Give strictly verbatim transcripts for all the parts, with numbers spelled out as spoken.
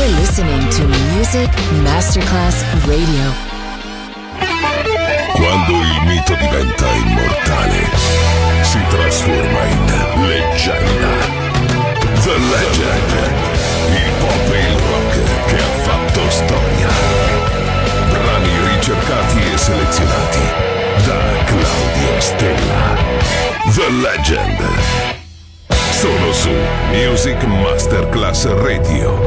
listening to Music Masterclass Radio. Quando il mito diventa immortale, si trasforma in leggenda. The Legend, il pop e il rock che ha fatto storia. Brani ricercati e selezionati da Claudio Stella. The Legend. Solo su Music Masterclass Radio.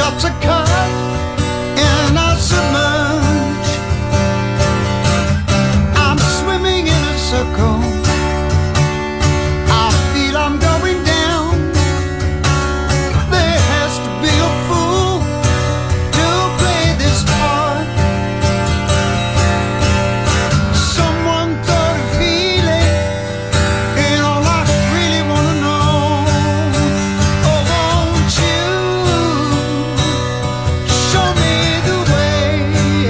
drops are cut and I submerge. I'm swimming in a circle. I feel I'm going down. There has to be a fool to play this part. Someone thought of healing, and all I really wanna know. Oh, won't you show me the way?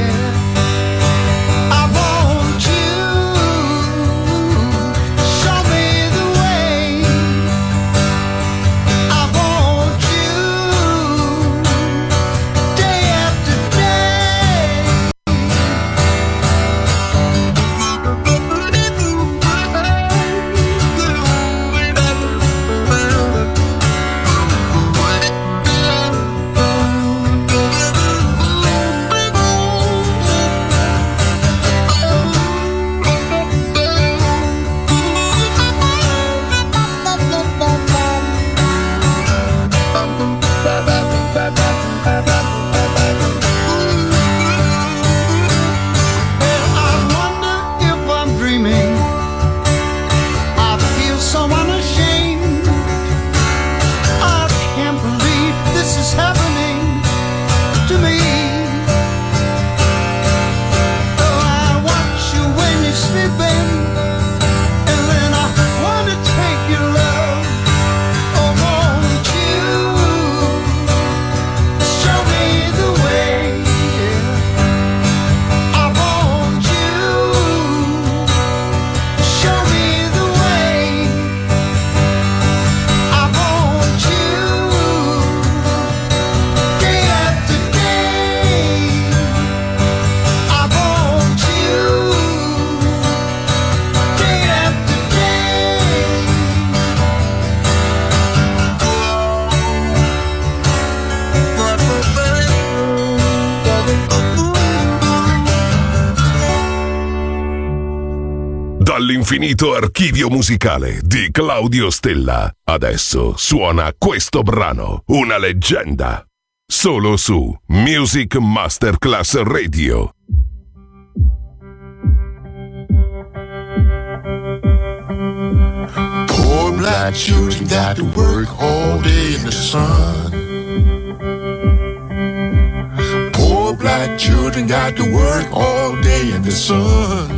I want you show me the way. I want you day after day. I wonder if I'm dreaming. I feel so unashamed. I can't believe this is happening to me. Oh, I watch you when you're sleeping, and then I wanna take your love. Oh, won't you show me the way? I want you show me the way. I want you day after day. I want you day after day. Dall'infinito archivio musicale di Claudio Stella. Adesso suona questo brano, una leggenda. Solo su Music Masterclass Radio. Poor black children got to work all day in the sun. Poor black children got to work all day in the sun.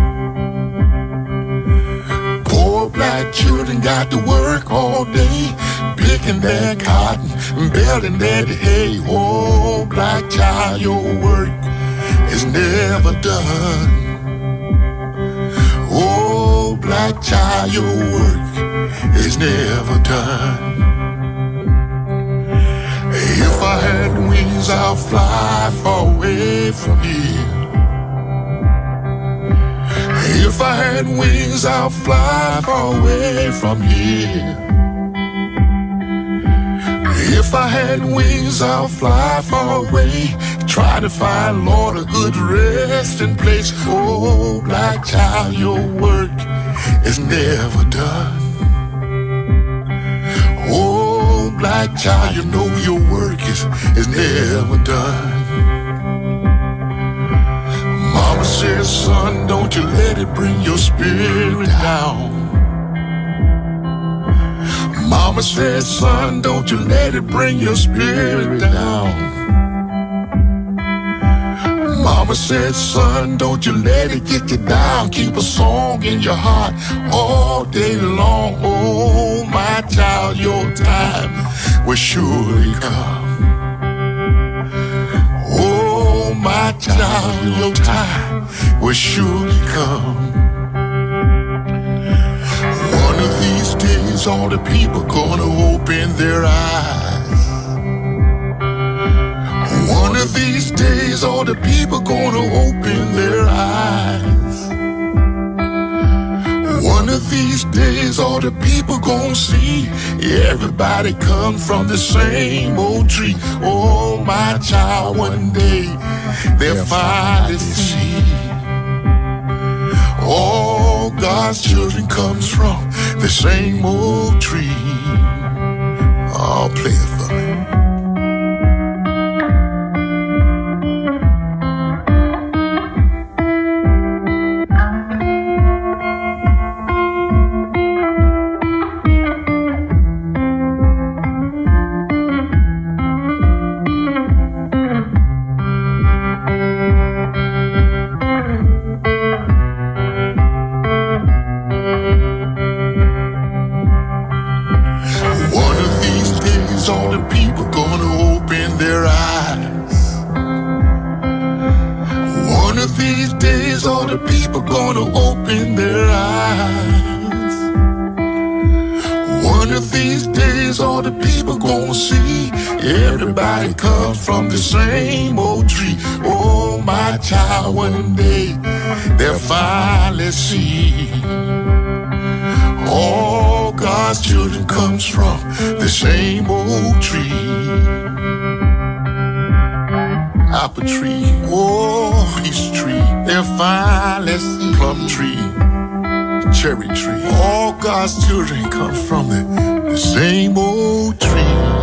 Poor black children got to work all day, picking their cotton and baling their hay. Oh, black child, your work is never done. Oh, black child, your work is never done. If I had wings, I'll fly far away from here. If I had wings, I'll fly far away from here. If I had wings, I'll fly far away. Try to find, Lord, a good resting place. Oh, black child, your work is never done. Oh, black child, you know your work is, is never done. Mama says, son, don't you let it bring your spirit down. Mama says, son, don't you let it bring your spirit down. Mama said, son, don't you let it get you down. Keep a song in your heart all day long. Oh, my child, your time will surely come. Oh, my child, your time will surely come. One of these days, all the people gonna open their eyes. One of these days, all the people gonna open their eyes. One of these days, all the people gonna see everybody come from the same old tree. Oh, my child, one day they'll finally see all God's children comes from the same old tree. Oh, play it for me. days all the people gonna open their eyes. One of these days all the people gonna open their eyes. One of these days all the people gonna see everybody comes from the same old tree. Oh my child, one day they'll finally see all God's children comes from the same old tree. Apple tree, oh peach tree, they'll finally see plum tree, cherry tree. All God's children come from the, the same old tree.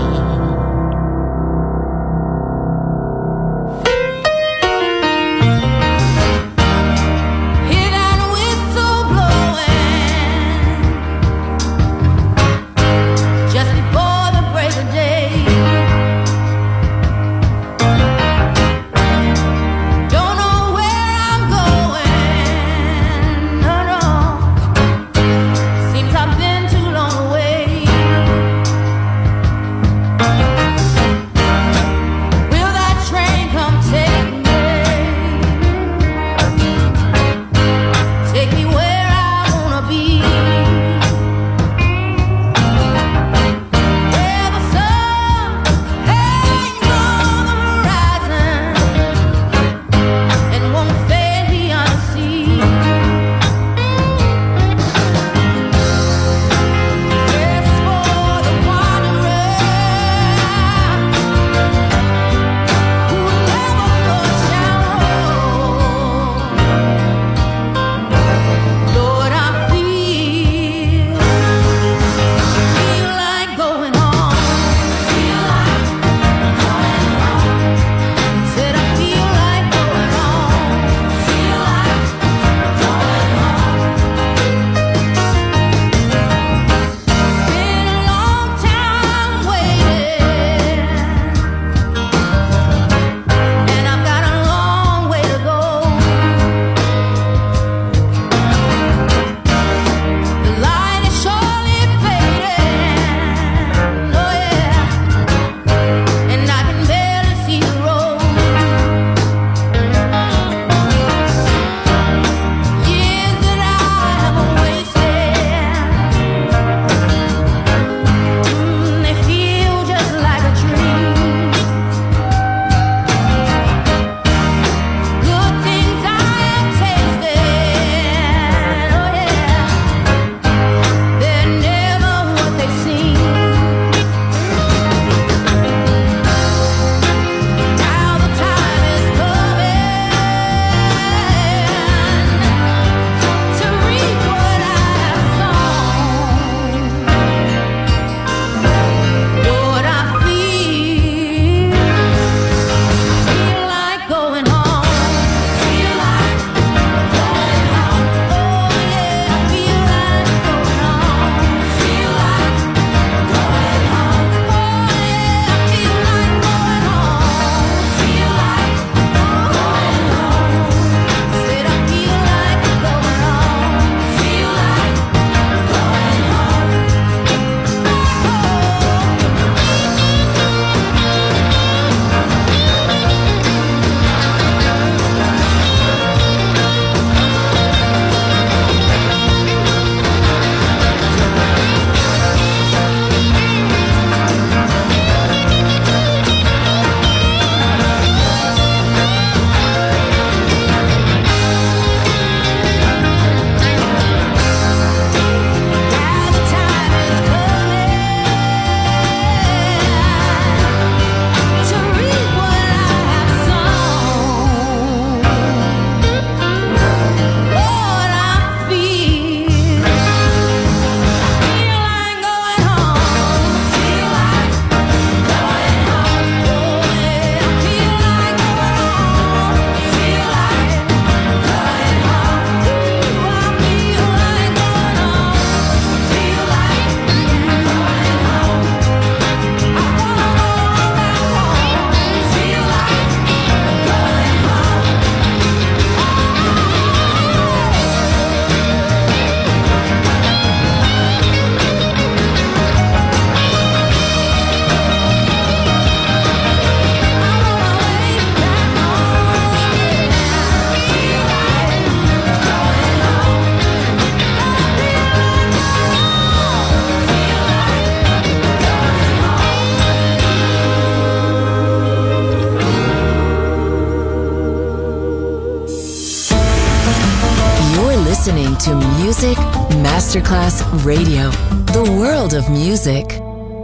Masterclass Radio, the world of music.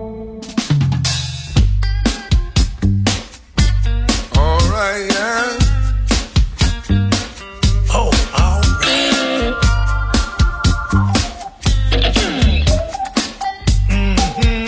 All right, yeah. Oh, all right. Mm-hmm.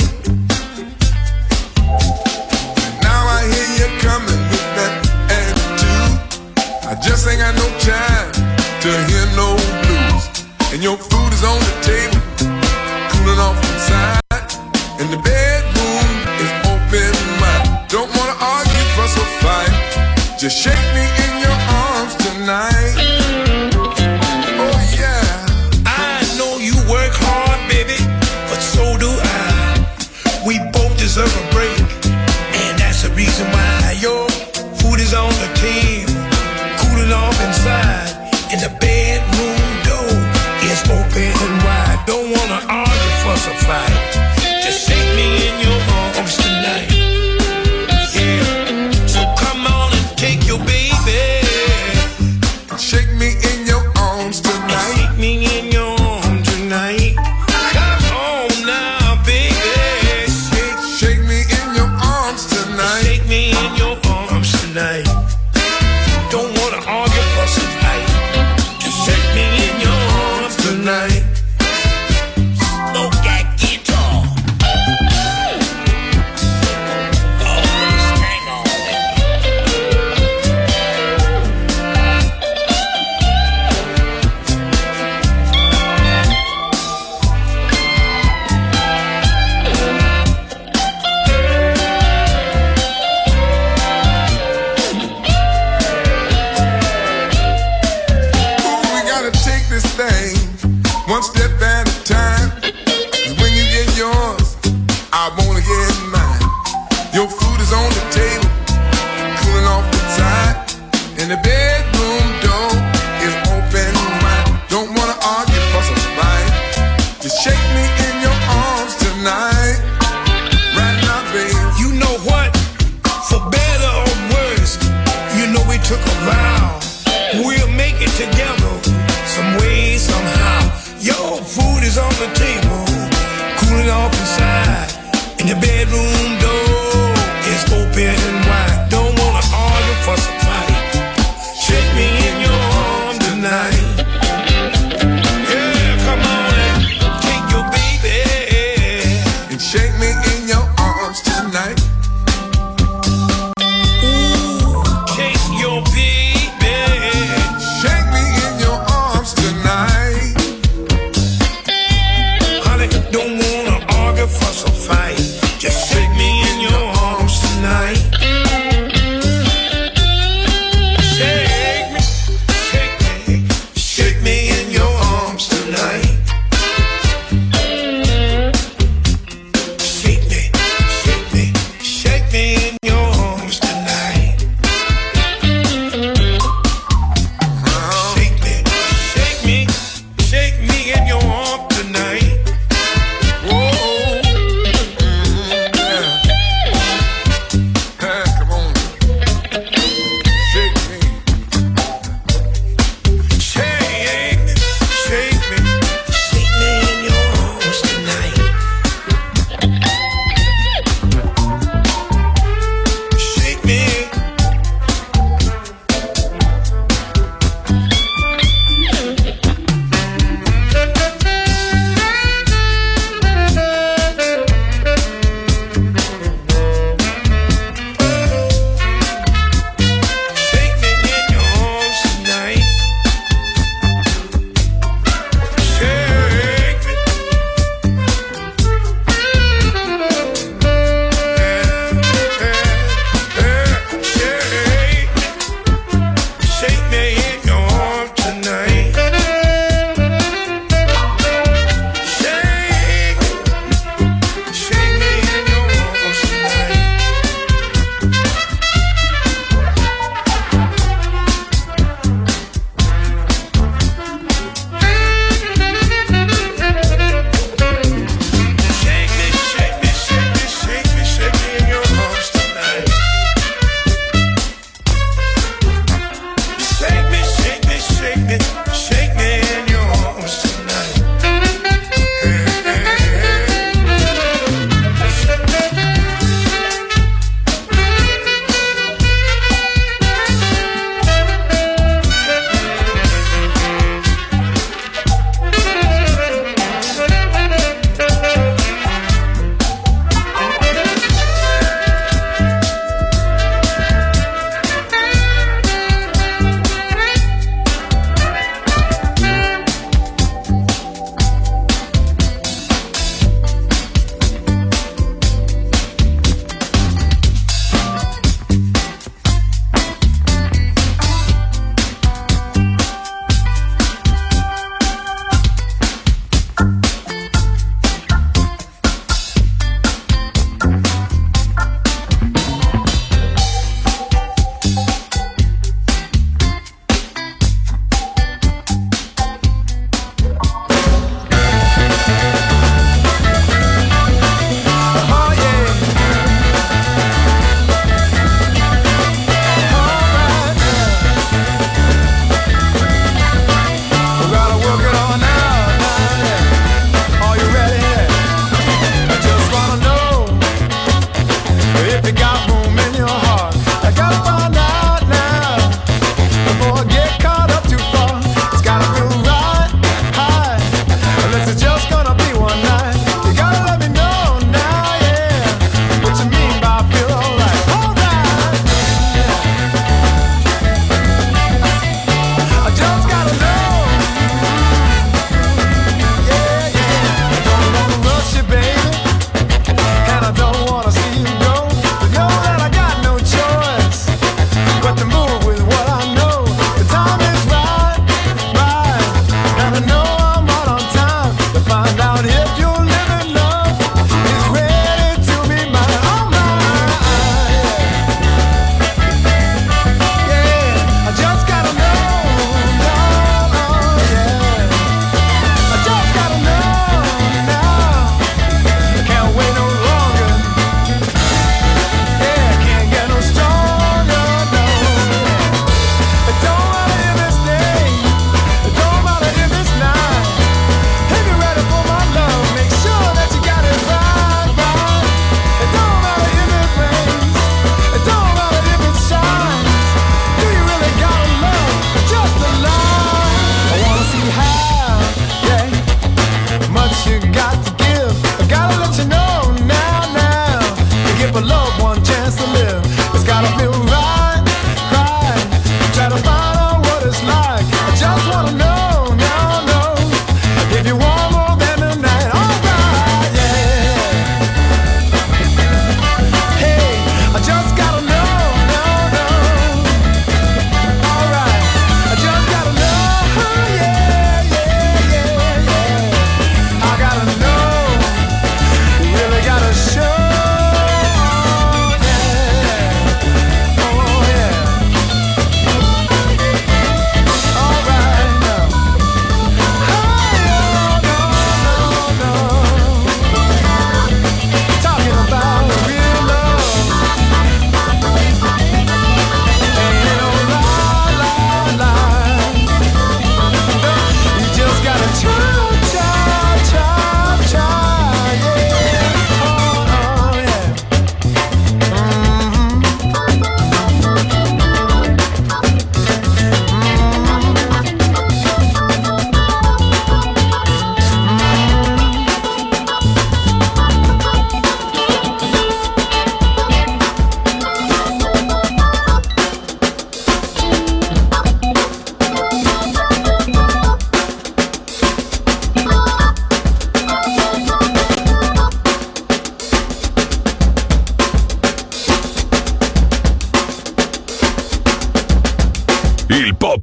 Now I hear you coming with that attitude. I just ain't got no time to hear no blues. And your food is on the table, cooling off inside, and the bedroom is open wide. Don't wanna argue, fuss or fight. Just shake me in your arms tonight. Oh yeah. I know you work hard, baby, but so do I. We both deserve a break, and that's the reason why your food is on the table, cooling off inside, and the bedroom door is open and wide. Don't wanna argue, fuss or fight. Just shake me in your arms tonight. Yeah. So come on and take your baby. Shake me in your arms tonight. Shake me in your arms tonight. Come on now, baby. Shake, shake me in your arms tonight. Shake me in your arms tonight. Don't wanna argue, fuss or fight. Just shake me in your arms tonight. Smoke that guitar. Oh, hang on. Ooh, we gotta take this thing one step at a time. 'Cause when you get yours, I wanna get mine. Your food is on the table, cooling off inside, and the bedroom door is open wide. Don't wanna argue, fuss or fight. Just shake me in your arms tonight. Right now, babe. You know what? For better or worse, you know we took a vow. We'll make it together, some way, somehow. Your food is on the table, cooling off inside, and the bedroom door is open and wide. Don't wanna argue, fuss or fight. Shake me in your arms tonight. Yeah, come on and take your baby. And shake me in your arms tonight. Ooh, take your baby. Shake me in your arms tonight. Honey, don't wanna argue, fuss or fight. Just shake me in your arms tonight.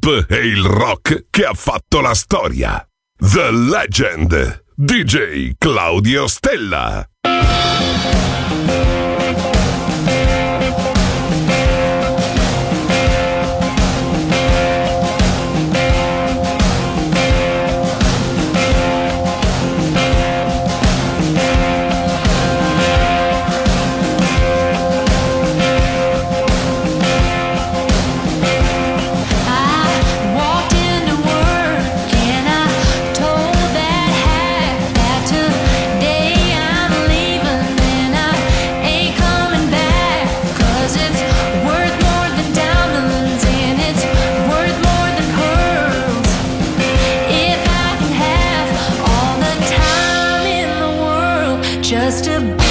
pop e il rock che ha fatto la storia. The Legend, D J Claudio Stella. Just to be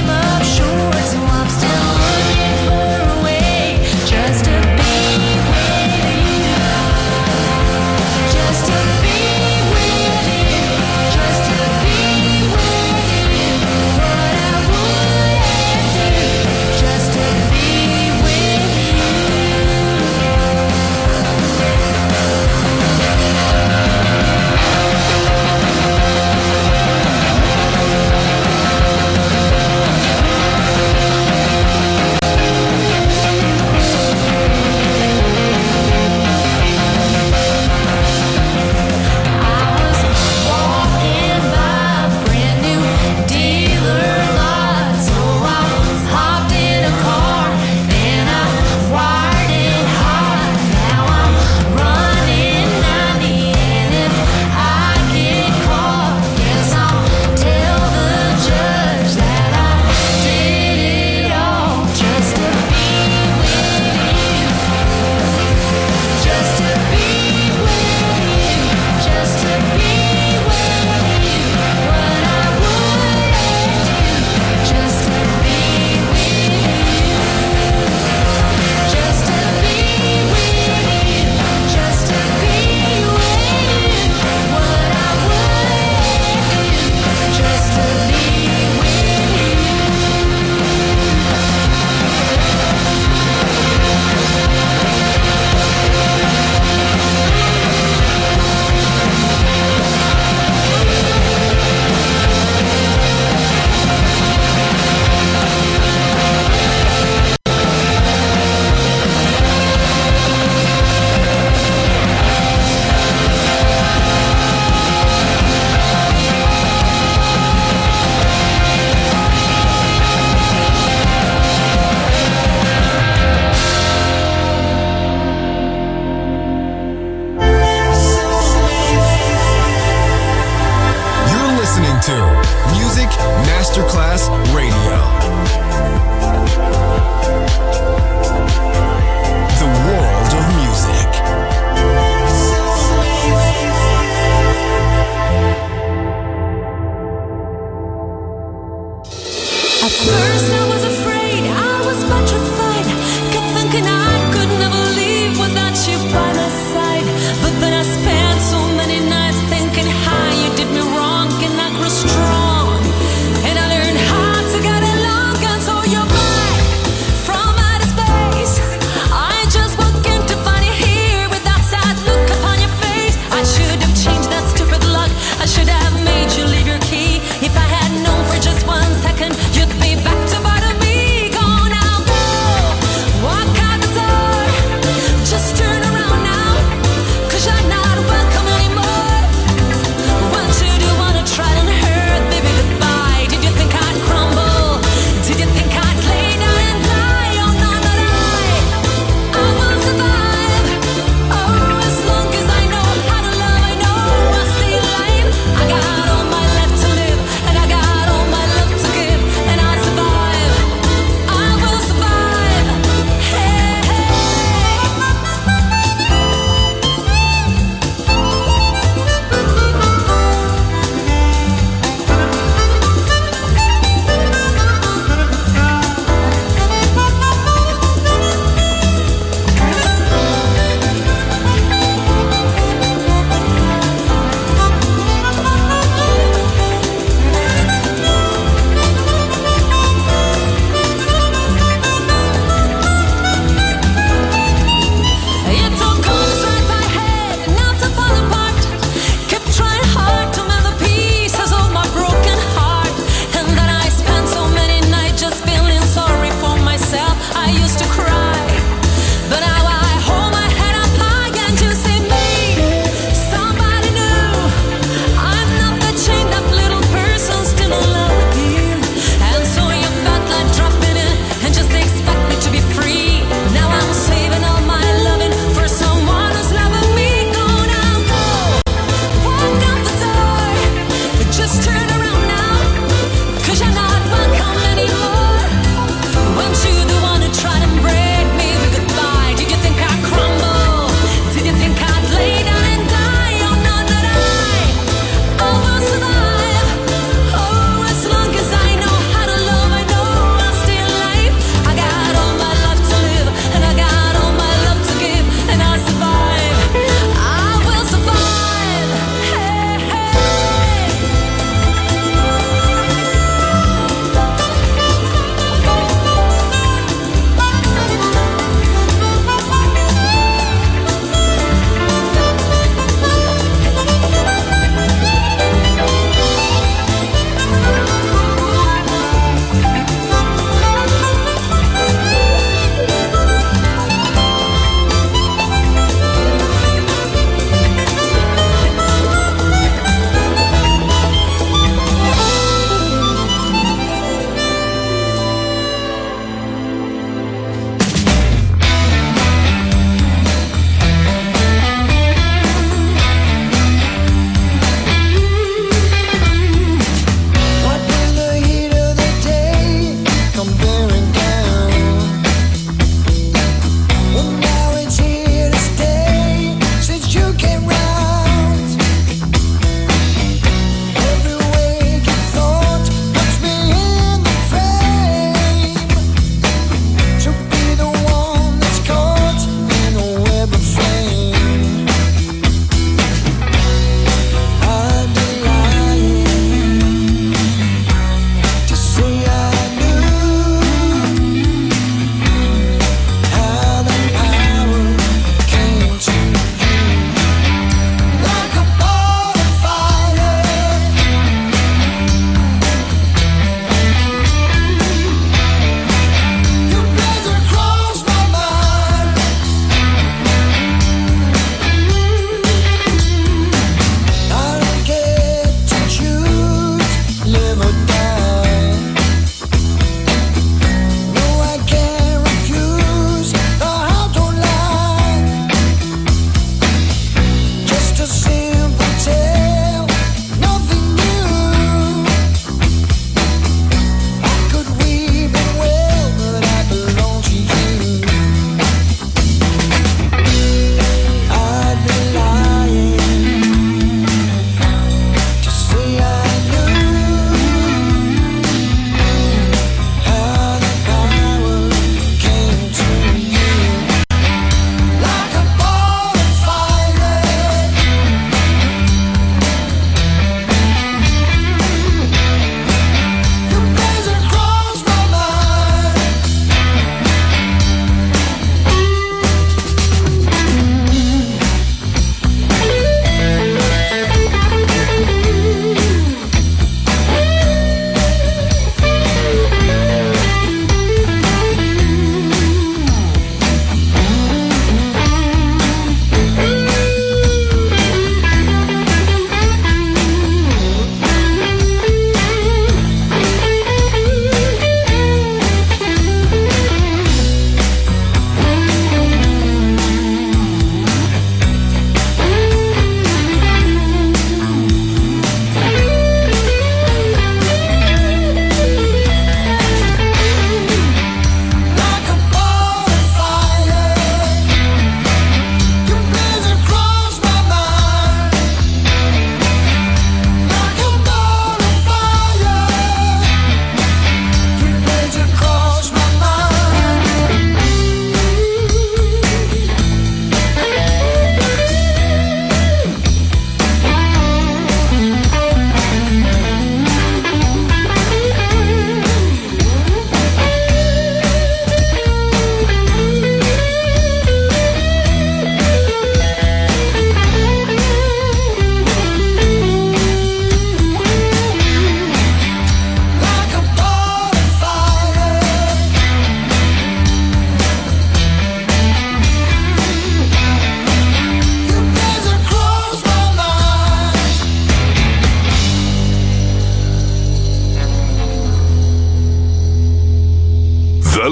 just to be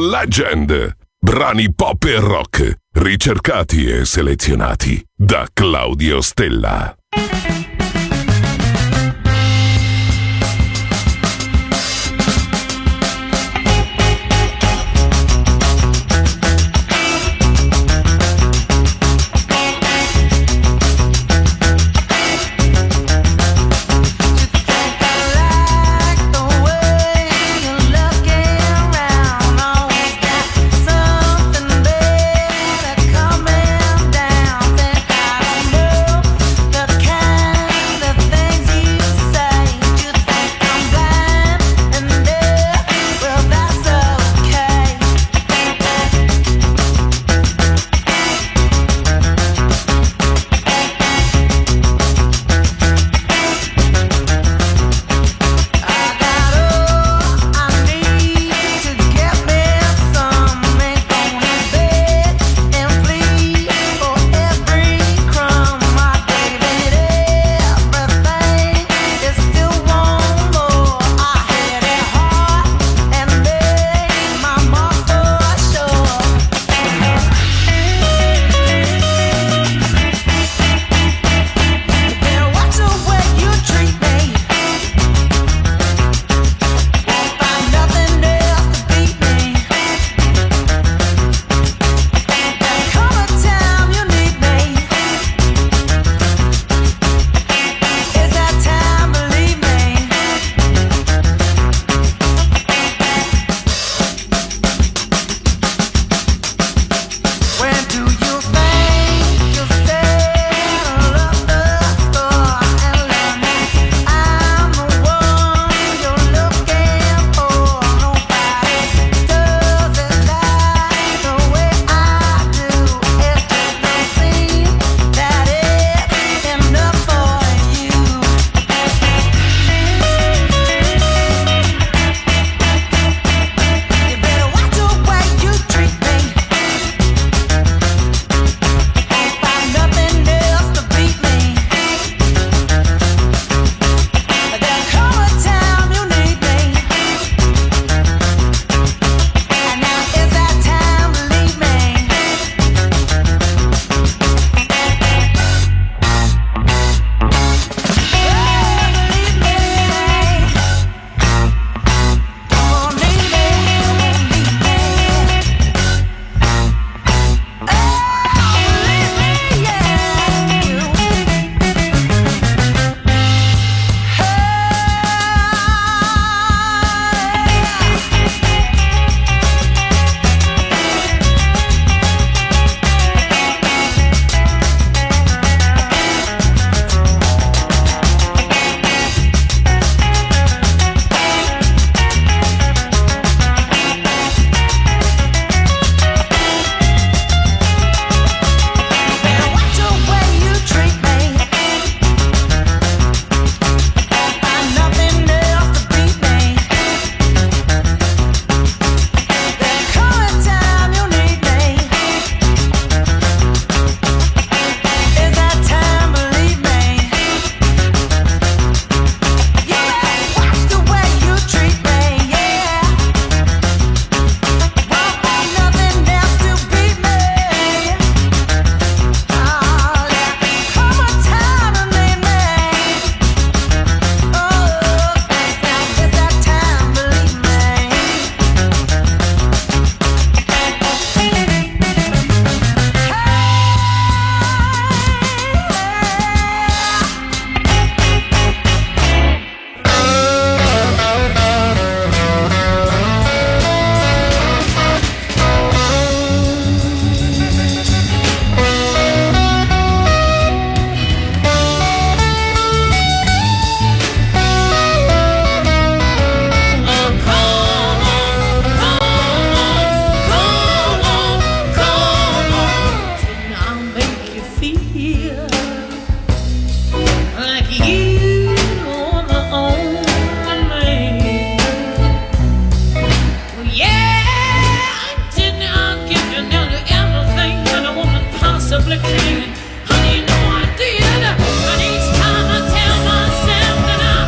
Legend. Brani pop e rock, ricercati e selezionati da Claudio Stella.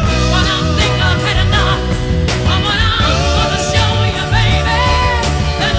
Then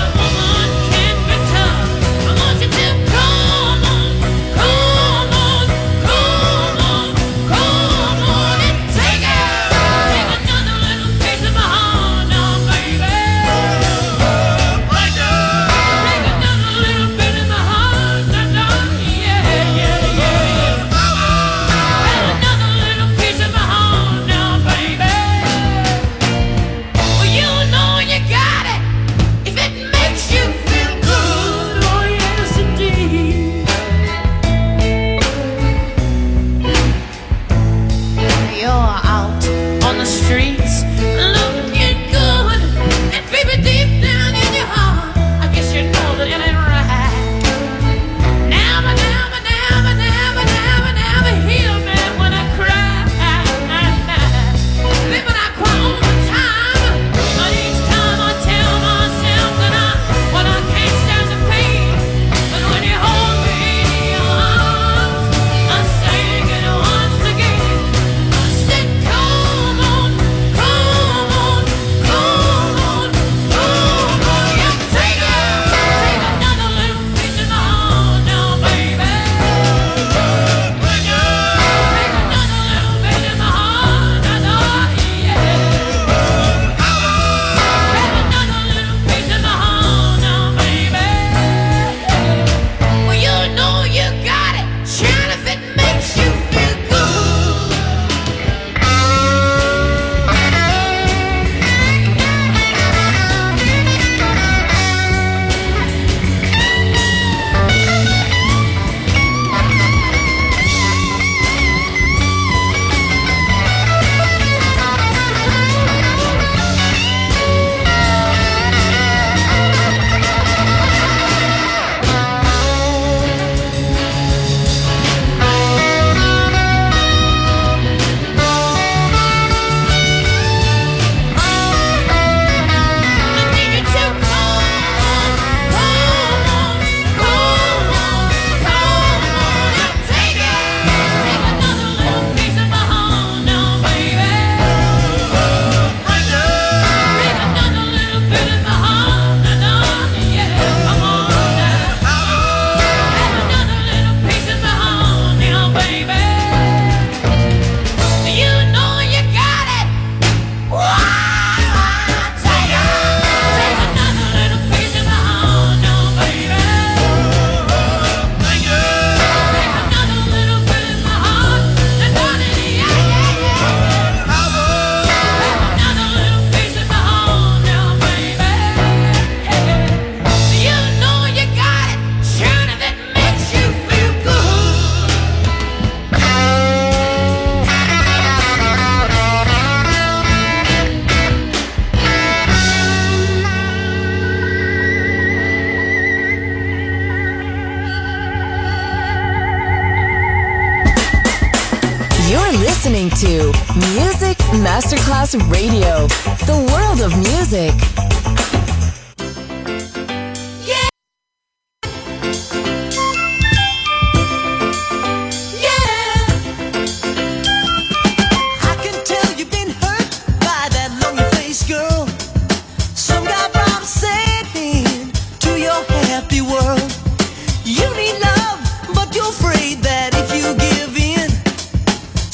listening to Music Masterclass Radio, the world of music.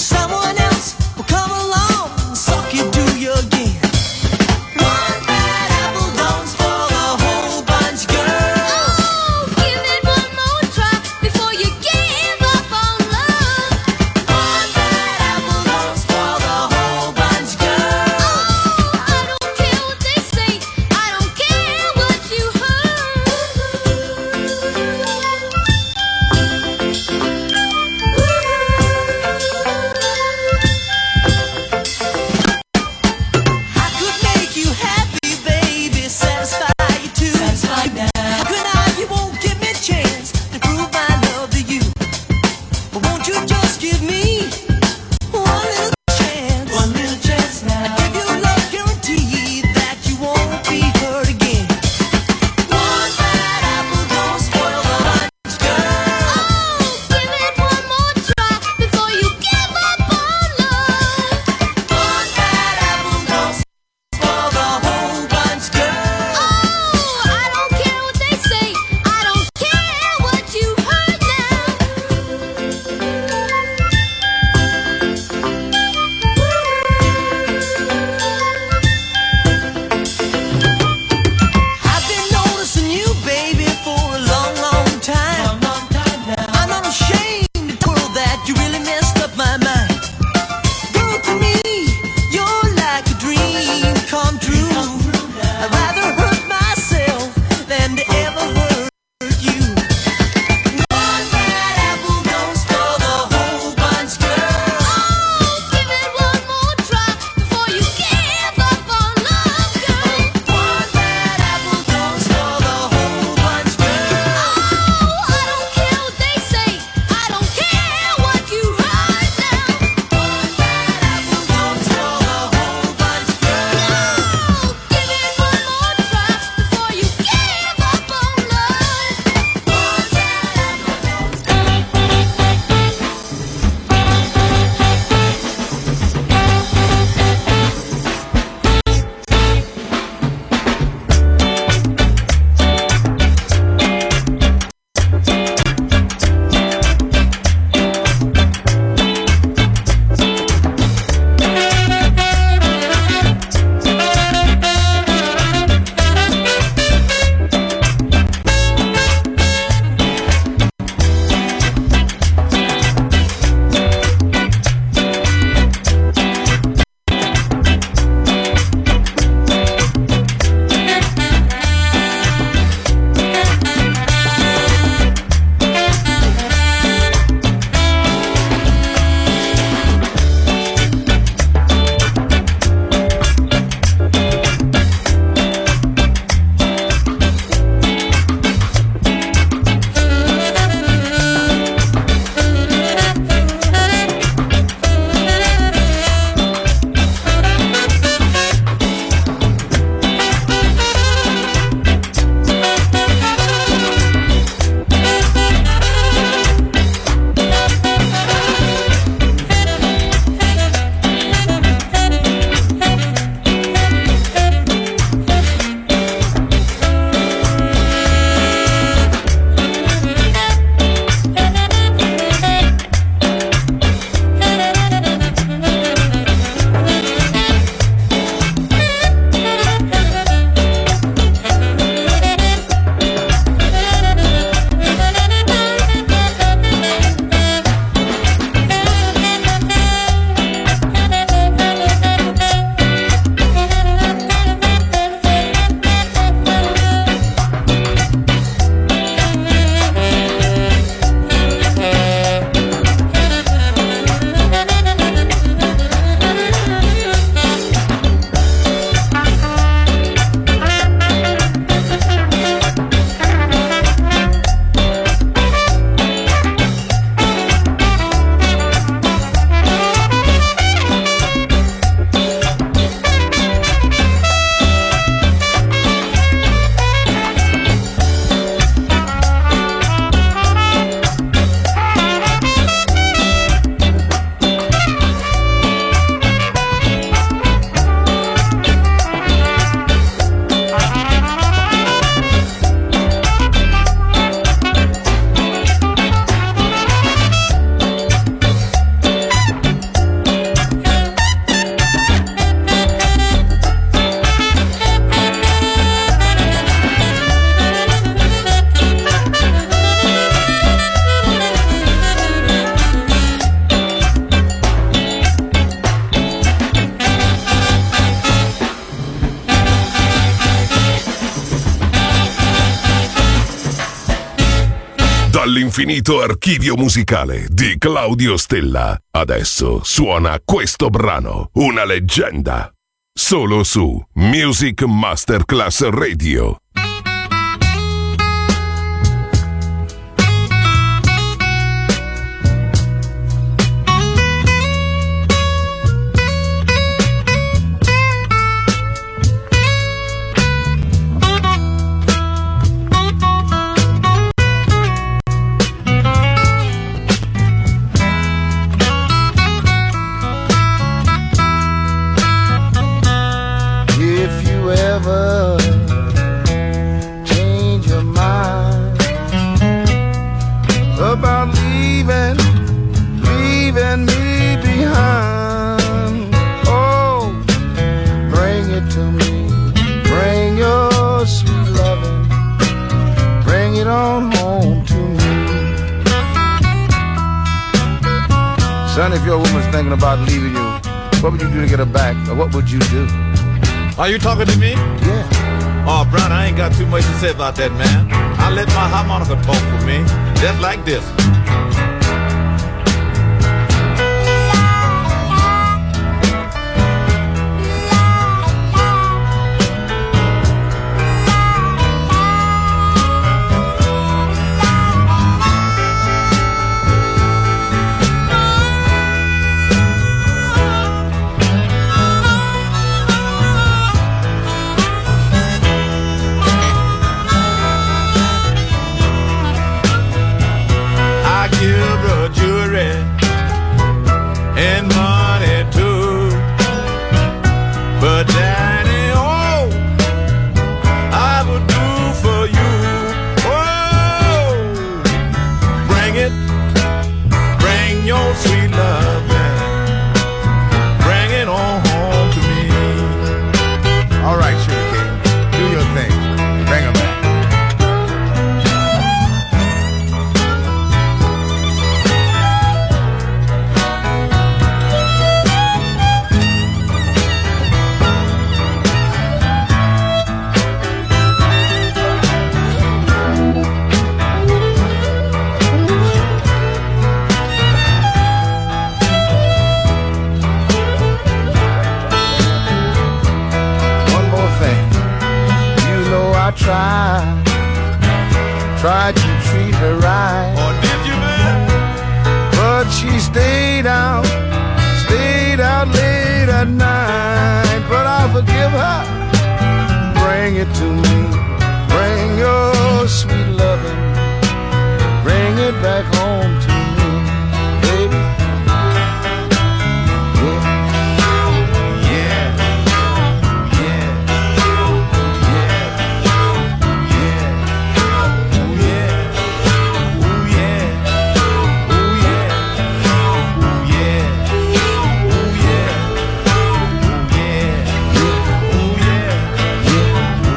Someone else will come along, suck you to your game. One bad L'infinito archivio musicale di Claudio Stella. Adesso suona questo brano, una leggenda. Solo su Music Masterclass Radio. Son, if your woman's thinking about leaving you, what would you do to get her back? Or what would you do? Are you talking to me? Yeah. Oh, Brown, I ain't got too much to say about that, man. I let my harmonica talk for me. Just like this. Tried to treat her right. Oh, did you, man? But she stayed out, stayed out late at night. But I'll forgive her. Bring it to me. Bring your sweet loving. Bring it back home to me, baby.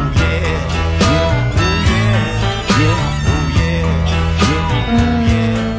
Yeah.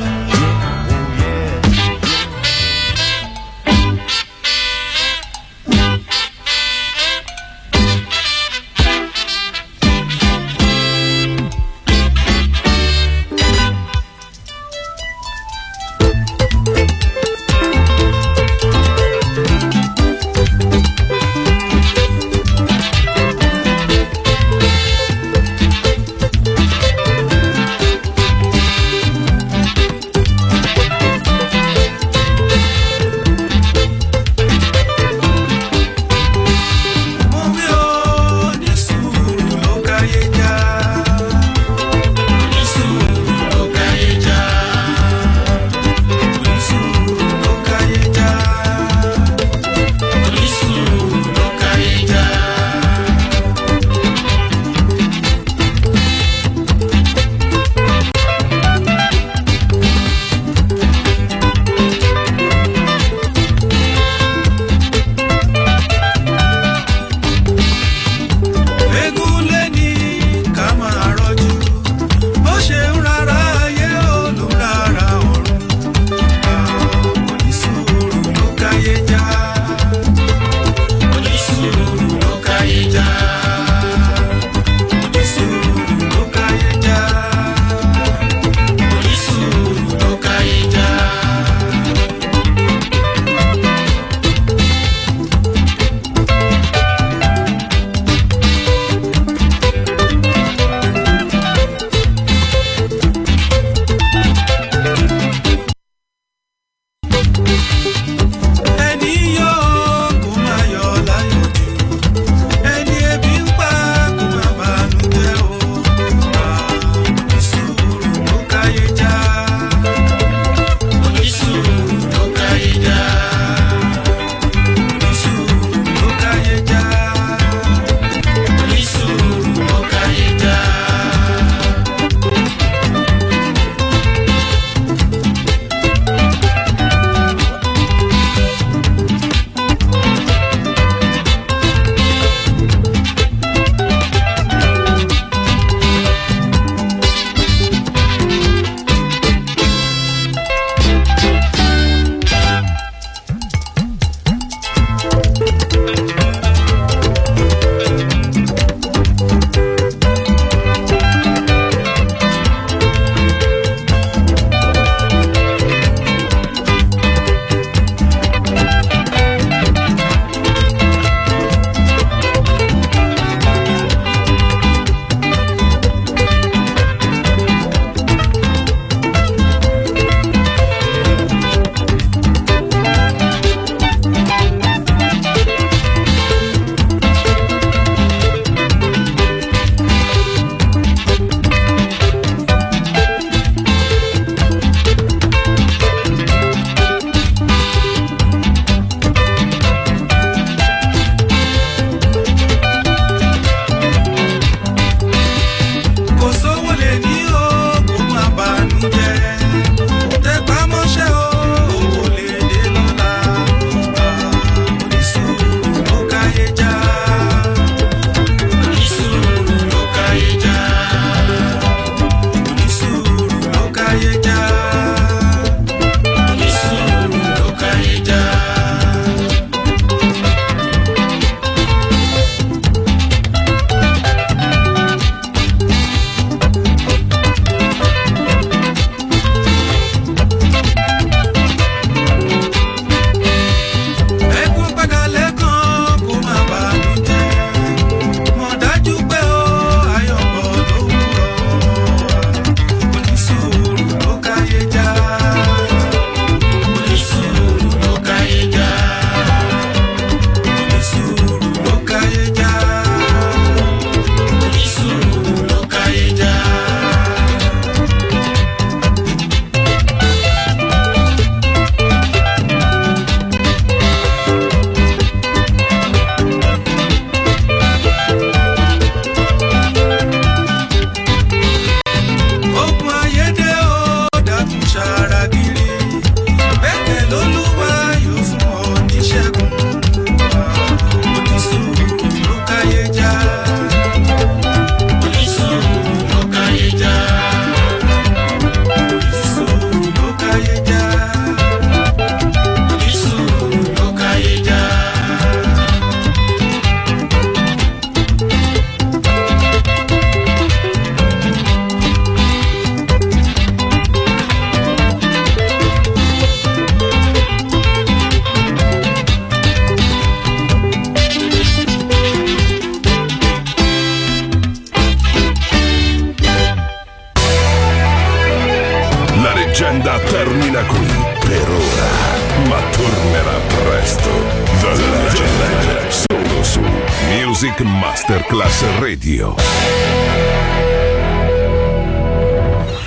da qui per ora, ma tornerà presto. The Legend, solo su Music Masterclass Radio.